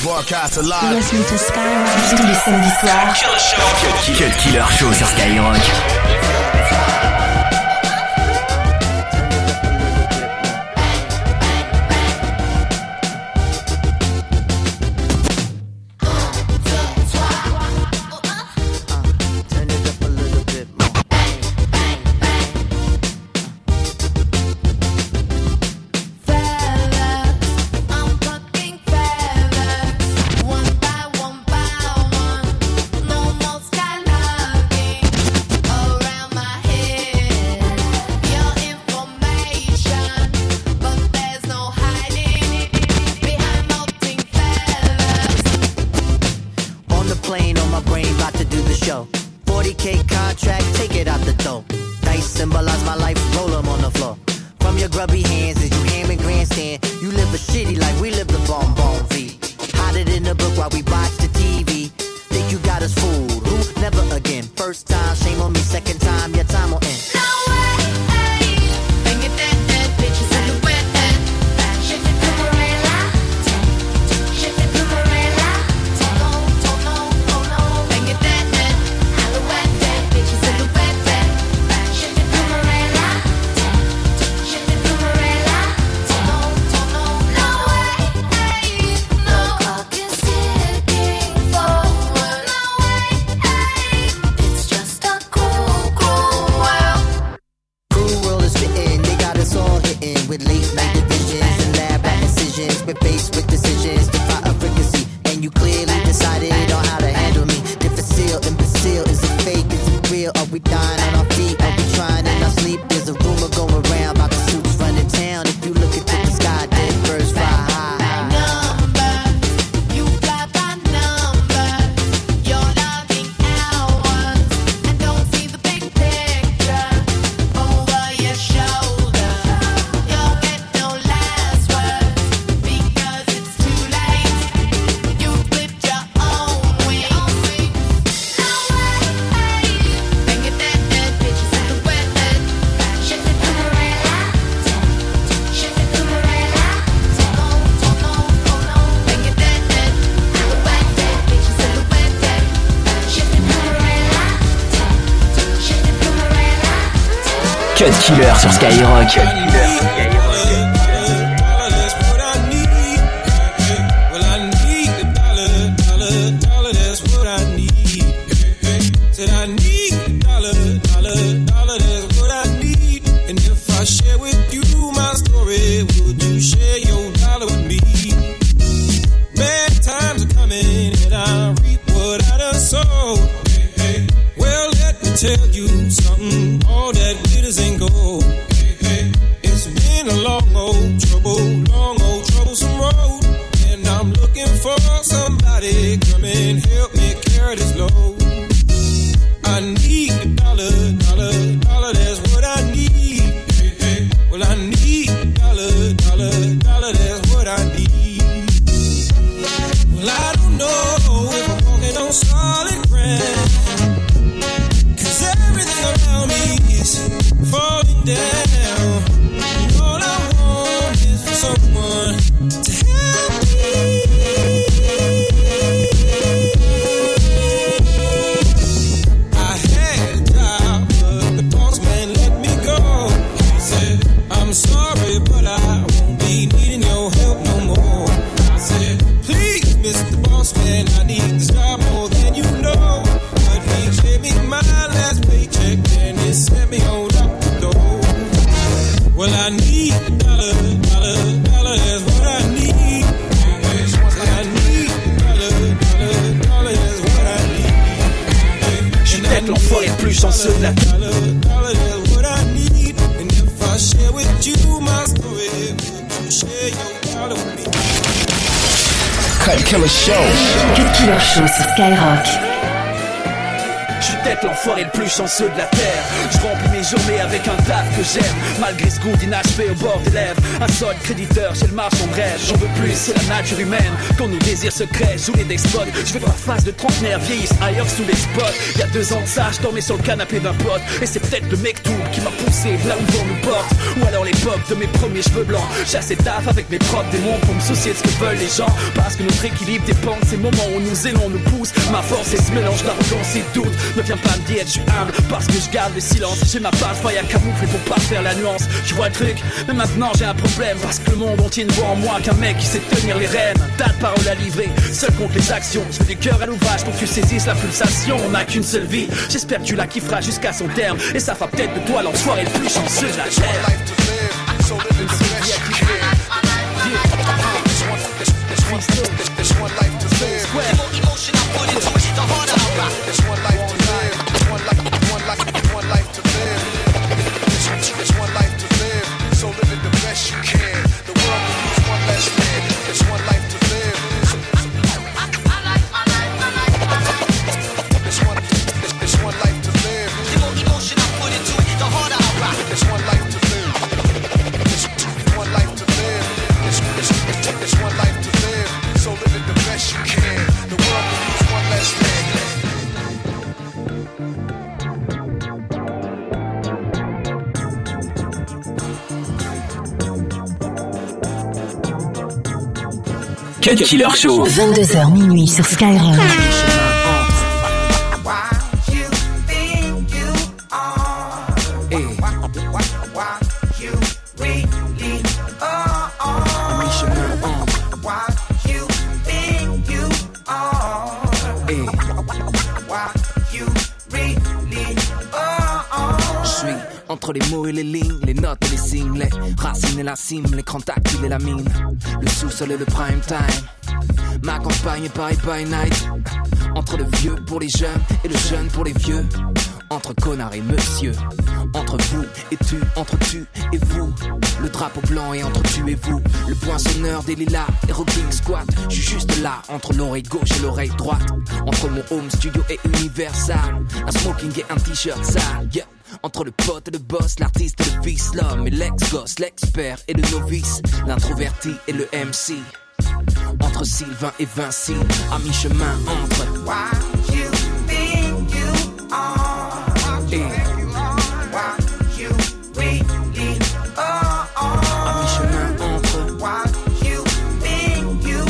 Broadcast alive. Listen to Skyrock tous les samedis soirs. Cut Killer Show sur Skyrock. Cut Killer sur Skyrock. Cut Killer sur Skyrock. Tell you something, all that glitters ain't gold. It's been a long old troublesome road, and I'm looking for somebody come and help me carry this load. I need a dollar, that's what I need. Well, I need a dollar, that's what I need. Well, I don't know if I'm walking on solid ground. Everything around me is falling down. And all I want is for someone to help me. I had a job, but the boss man let me go. He said, I'm sorry, but I won't be needing your help no more. I said, please, Mr. Boss Man, I need this job more than you know. But he gave me my last paycheck and he sent me on out the door. Well, I need a dollar, that's what I need. I need a dollar, that's what I need. Je suis peut-être l'enfoiré le plus chanceux de la terre. Dollar, that's what I need. And if I share with you my story, would you share your dollar with me? Cut Killer Show. Cut Killer Show sur Skyrock. Je suis peut-être l'enfoiré le plus chanceux de la terre. Je remplis mes journées avec un taf que j'aime, malgré ce goût d'inachevé au bord des lèvres. Un solde créditeur, j'ai le marchand de rêve. J'en veux plus, c'est la nature humaine. Quand nos désirs secrets jouent les despotes, je veux que ma face de trentenaire vieillisse ailleurs sous les spots. Il y a 2 ans de ça, je dormais sur le canapé d'un pote. Et c'est peut-être le mec tout qui m'a poussé là où le vent nous porte. Ou alors l'époque de mes premiers cheveux blancs. J'ai assez taf avec mes propres démons pour me soucier de ce que veulent les gens. Parce que notre équilibre dépend de ces moments où nous aimons nous pousse. Ma force est ce mélange d'arrogance et doute. Ne viens pas me dire je suis humble parce que je garde le silence. J'ai ma page faille à camoufler pour pas faire la nuance. Tu vois le truc, mais maintenant j'ai un problème. Parce que le monde entier ne voit en moi qu'un mec qui sait tenir les rênes. Tas de paroles à livrer, seul contre les actions. Je fais du cœur à l'ouvrage pour que tu saisisses la pulsation. On n'a qu'une seule vie, j'espère que tu la kifferas jusqu'à son terme. Et ça fera peut-être de toi l'enfoiré le plus chanceux de la terre. There's one life to live. Emotion I put into it, the harder I rock. There's one life to live. One life to live. There's one life to live. So live it the best you can. The world could use one less man. There's one life to live. There's one life to live. The more emotion I put into it, the harder I rock. There's one life to live. There's one life to live. There's one life to live. So live it the best you can. The world could use one less man. Cut Killer Show. 22h minuit sur Skyrock. Entre les mots et les lignes, les notes et les signes, les racines et la cime, l'écran tactile et la mine, le sous-sol et le prime time. Ma campagne est Paris by night. Entre le vieux pour les jeunes et le jeune pour les vieux. Entre connard et monsieur. Entre vous et tu, entre tu et vous. Le drapeau blanc et entre tu et vous. Le poinçonneur des lilas et rocking squat. J'suis juste là, entre l'oreille gauche et l'oreille droite. Entre mon home studio et Universal. Un smoking et un t-shirt sale, yeah. Entre le pote et le boss, l'artiste et le fils, l'homme et l'ex-gosse, l'expert et le novice, l'introverti et le MC. Entre Sylvain et Vinci, à mi-chemin entre Why you think you are et Why you really are à mi-chemin entre Why you think you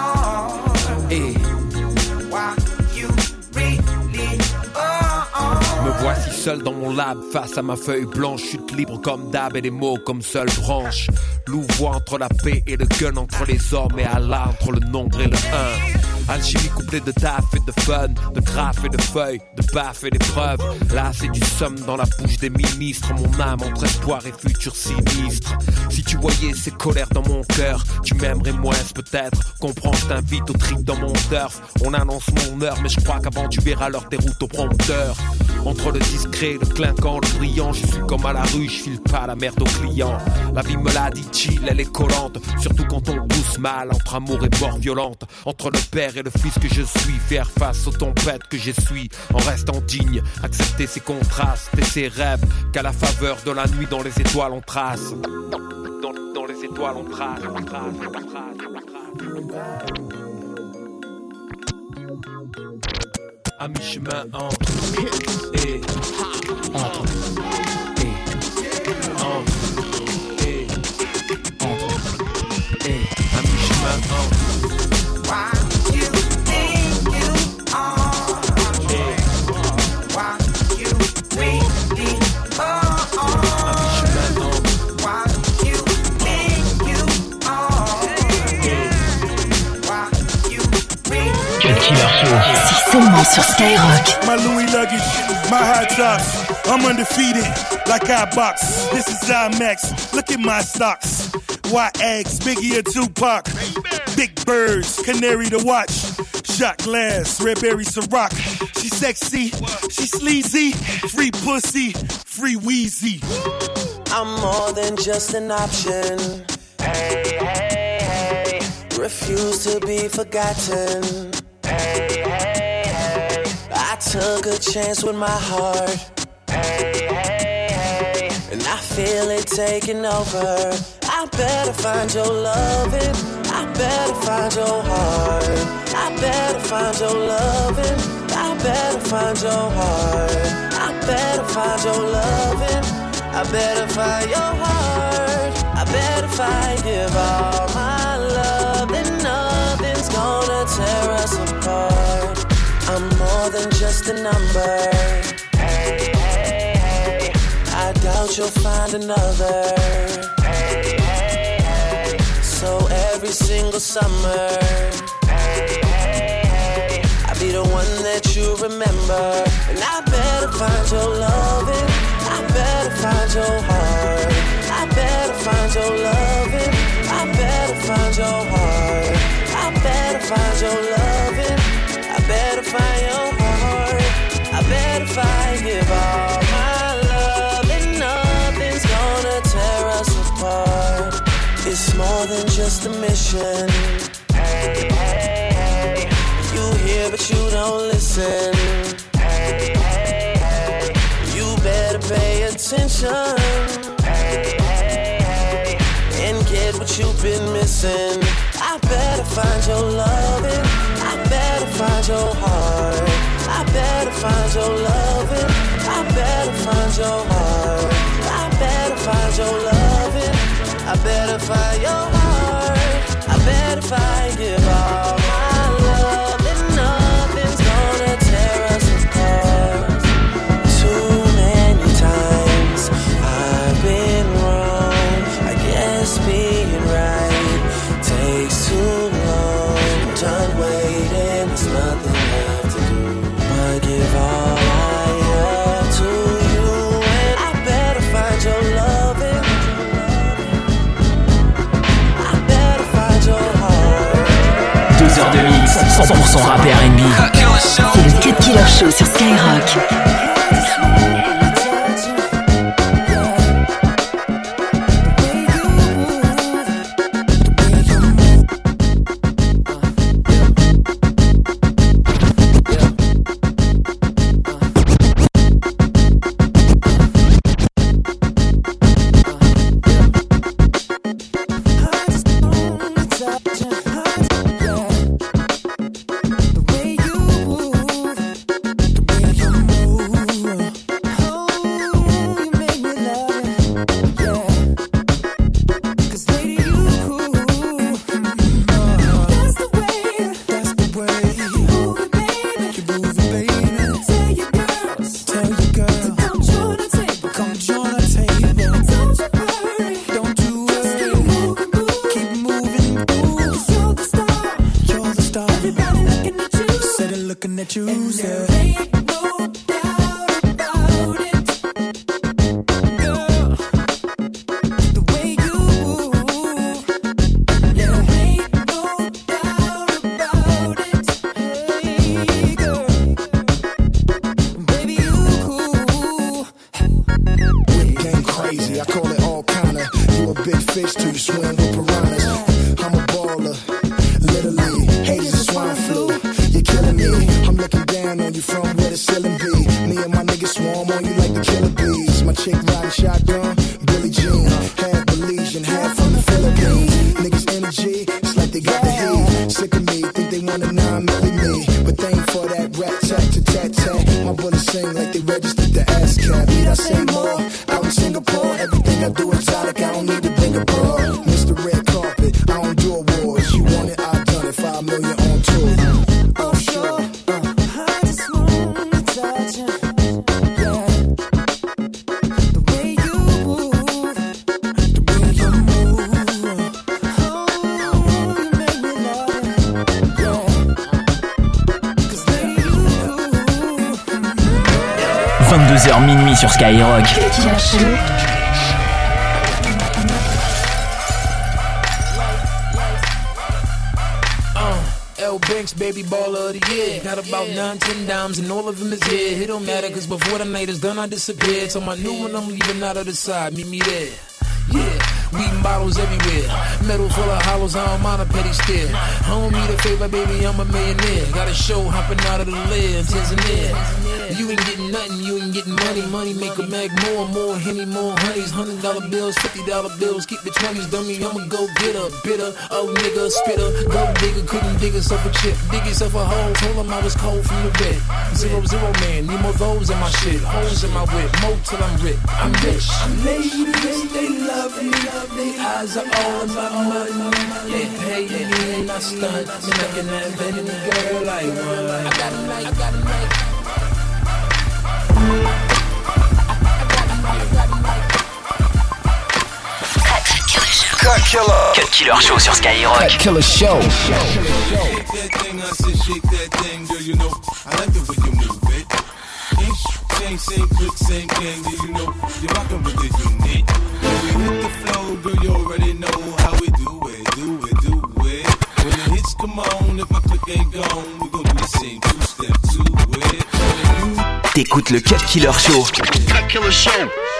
are et Why you really are. Me voici seul dans mon lab, face à ma feuille blanche, chute libre comme d'hab et les mots comme seule branche. Louvoie entre la paix et le gun, entre les hommes et Allah, entre le nombre et le 1. Alchimie couplée de taf et de fun, de graphes et de feuilles, de baffes et d'épreuves. Là c'est du somme dans la bouche des ministres, mon âme entre espoir et futur sinistre. Si tu voyais ces colères dans mon cœur, tu m'aimerais moins peut-être. Comprends, je t'invite au trip dans mon turf. On annonce mon heure, mais je crois qu'avant tu verras leur déroute au prompteur. Entre le discret, le clinquant, le brillant, je suis comme à la rue, je file pas la merde aux clients. La vie me l'a dit chill, elle est collante, surtout quand on pousse mal, entre amour et mort violente. Entre le père et le fils que je suis, faire face aux tempêtes que j'essuie, en restant digne, accepter ses contrastes et ses rêves, qu'à la faveur de la nuit dans les étoiles on trace. Dans les étoiles on trace. À mi-chemin entre et entre et entre et entre et à mi-chemin entre Why you think you are Why you really are Why you think you are Why you really Cut Killer Show. C'est seulement sur Skyrock. My Louis luggage, my high tops. I'm undefeated, like I box. This is IMAX, look at my stocks. White eggs, Biggie or Tupac. Big birds, canary to watch. Shot glass, red berry Ciroc. She sexy, she sleazy. Free pussy, free Wheezy. I'm more than just an option. Hey, hey, hey. Refuse to be forgotten. Hey, hey, hey. I took a chance with my heart. Hey, hey, hey. And I feel it taking over. I better find your loving. I better find your heart. I better find your loving. I better find your heart. I better find your loving. I bet if I your heart, I bet if I give all my love, then nothing's gonna tear us apart. I'm more than just a number. Hey, hey, hey. I doubt you'll find another. Hey, hey, hey. So every single summer, hey, hey, hey, I'll be the one that you remember. And I better find your loving, I better find your heart, I better find your loving, I better find your heart, I better find your loving, I better find your heart, I better if I give all my love, and nothing's gonna tear us apart. It's more than just a mission. Hey, hey, hey. You hear but you don't listen. Hey, hey, hey. You better pay attention. Hey, hey, hey. And get what you've been missing. I better find your loving, I better find your heart, I better find your loving, I better find your heart, I better find your loving, I better find your heart, I better if I give all my love, then nothing's gonna tear us apart. Too many times I've been wrong, I guess being right takes too long. Done waiting, there's nothing left to do but give all I have to you, and I better find your loving, I better find your heart. 2 heures de mix, 100% rap et R&B. C'est le Cut Killer Show sur Skyrock. 22h minuit sur Skyrock. L Banks, baby baller of the year. Got about 9-10 dimes and all of them is here. It don't matter cause before the night is done I disappeared. So my new one I'm leaving out of the side, meet me there. Yeah, weed bottles everywhere. Metal full of hollows, I don't mind a petty stare. I don't need a favor, baby, I'm a millionaire. Got a show hopping out of the lid, Tanzania. You ain't getting nothing, you ain't getting money. Money make a mag more, Henny, more honeys. $100 bills, $50 bills, keep the 20s, dummy. I'ma go get a bitter, oh nigga, spitter. Go digger, couldn't dig yourself a chip. Dig yourself a hole, told him I was cold from the bed. 0, man, need more those in my shit. Holes in my whip, more till I'm rich. I'm rich. Ladies, they love me, their eyes are all about money. They pay me and I stunt. Making that baby girl like one. I got a night. Cut Killer Show sur Skyrock. Cut Killer Show. Shake that thing, I said shake that thing, girl, you know I like the way you move it. Same quick, same gang, you know you're rockin' with the unit. When we hit the flow, girl, you already know how we do it. When the hits come on, if my click ain't gone, we gon' do the same two-step to it. T'écoutes le Cut Killer Show. Cut Killer Show.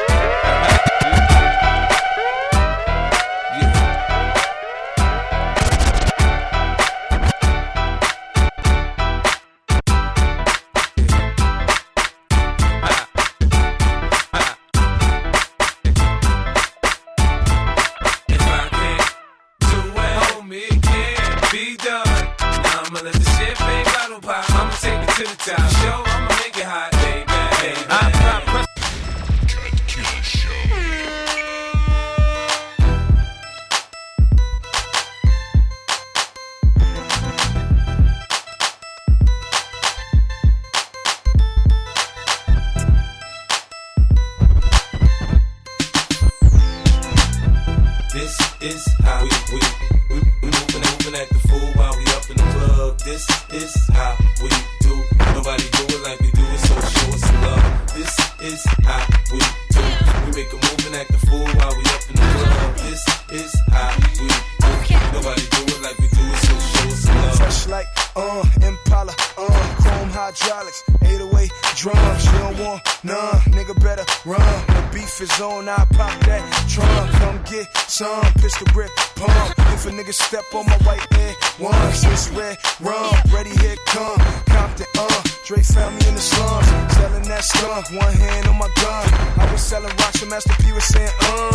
Step on my white air, one, since red rum, ready, here come Compton, Dre found me in the slums, selling that skunk, one hand on my gun. I was selling rocks and Master P was saying,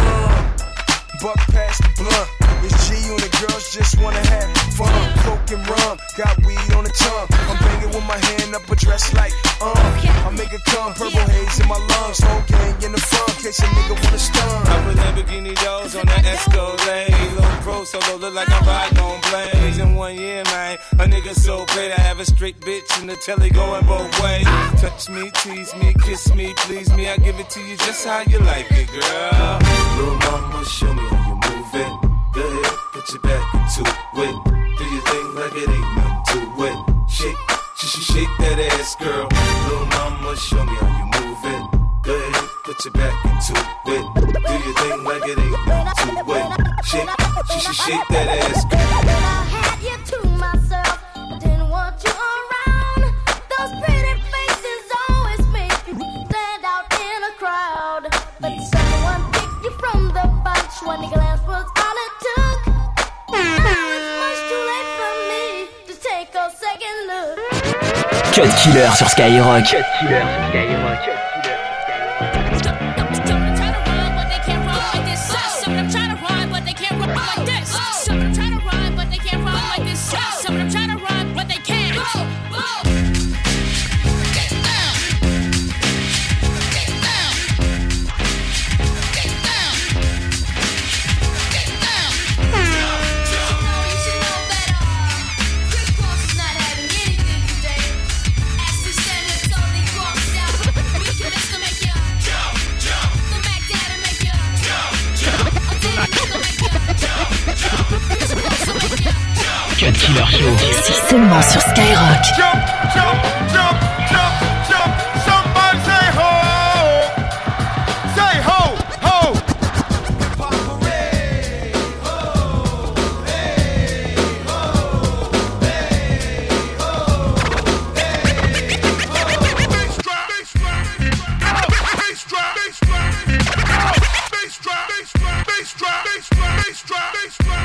buck past the blunt. It's G and the girls just wanna have fun. Coke and rum, got weed on the tongue. I'm banging with my hand up a dress like, I make it come, purple haze in my lungs. Whole gang in the front, case a nigga wanna stun. I put Lamborghini doors on that Escalade. Low pro solo, look like I'm riding on blades. In 1 year, man, a nigga so great. I have a straight bitch in the telly going both ways. Touch me, tease me, kiss me, please me. I give it to you just how you like it, girl. Little mama, show me how you move it. Go ahead, put your back into it. Do your thing like it ain't nothing to it. Shake that ass, girl. Little mama, show me how you move it. Go ahead, put your back into it. Do your thing like it ain't nothing to it. Shake that ass, girl. I had you to myself, didn't want you around. Those pretty faces always make you stand out in a crowd. But someone picked you from the bunch. One glance was all it took. Now it's much too late for me to take a second look. Cut Killer sur Skyrock. Cut Killer Show. Ici seulement sur Skyrock. Somebody say ho! Say ho! Ho!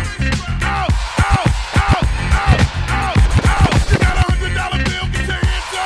$100 bill, get your hands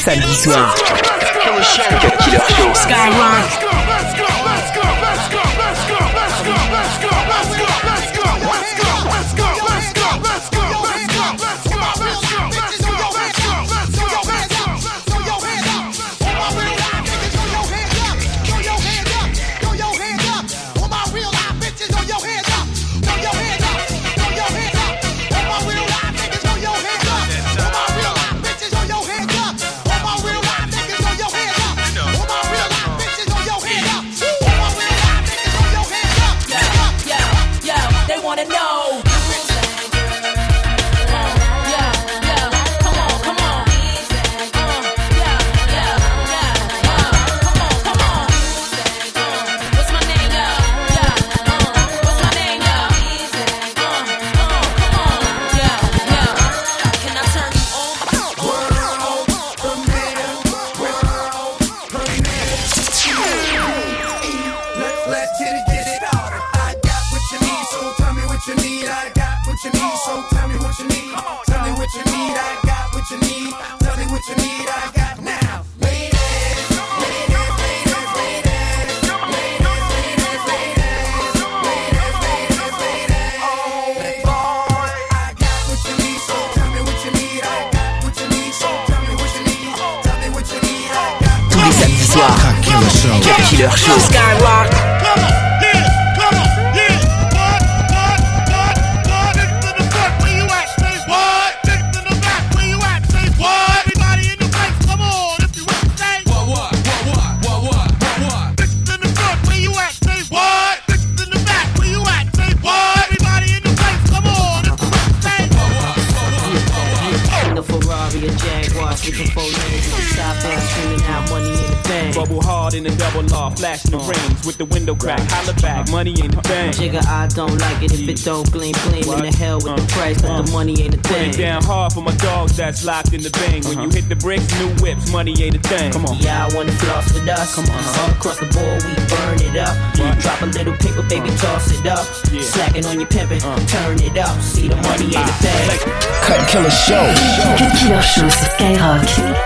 samedi soir. Cut Killer Show. Skyrock. Cut Killer Show. Skyrock. Bubble hard in the double law, flashing the rings with the window crack. Holla back, money ain't a thing. Jigga, I don't like it if it don't gleam. In the hell with the price, but the money ain't a thing. Put it down hard for my dogs that's locked in the bang. When you hit the bricks, new whips, money ain't a thing. Come on. Yeah, I wanna floss with us. Come on. All across the board, we burn it up. Drop a little paper, baby, toss it up. Slacking on your pimpin', turn it up. See the money ain't a thing. Cut Killer Show. Cut Killer Show sur Skyrock.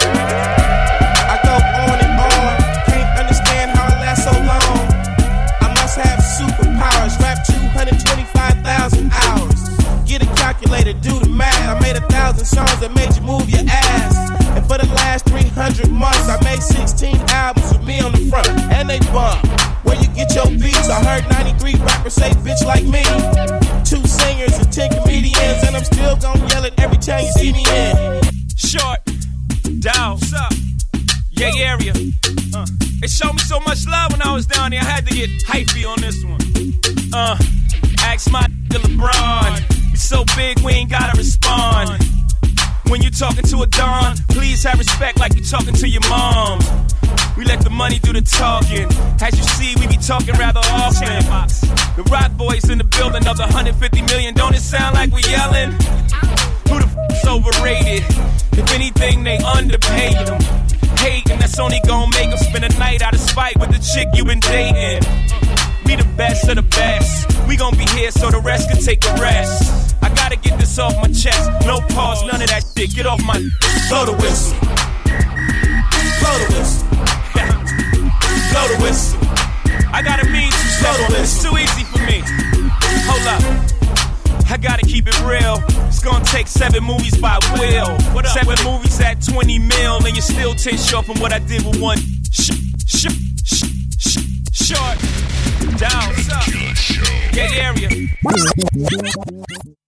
I go on and on, can't understand how it lasts so long. I must have superpowers, rap 225,000 hours. Get a calculator, do the math. I made 1,000 songs that made you move your ass. And for the last 300 months, I made 16 albums with me on the front, and they bump. Where you get your beats? I heard 93 rappers say bitch like me. 2 singers and 10 comedians, and I'm still gonna yell it every time you see me in. Short, down, what's up? Yeah, area. It showed me so much love when I was down there. I had to get hypey on this one. Ask my nigga LeBron. We so big we ain't gotta respond. When you talking to a Don, please have respect like you talking to your mom. We let the money do the talking. As you see, we be talking rather often. The Rock Boys in the building, another 150 million. Don't it sound like we yelling? Who the f***'s overrated? If anything, they underpaid them. Hating, that's only gon' make them spend a night out of spite with the chick you been dating. We the best of the best. We gon' be here so the rest can take a rest. I gotta get this off my chest. No pause, none of that shit. Get off my... Blow the whistle. Blow the whistle. Blow the whistle. I gotta mean to blow the whistle. It's too easy for me. Hold up. I gotta keep it real. It's gonna take 7 movies by Will. 7 movies at 20 mil, and you're still 10 short from what I did with one short. Down, what's up? Get area.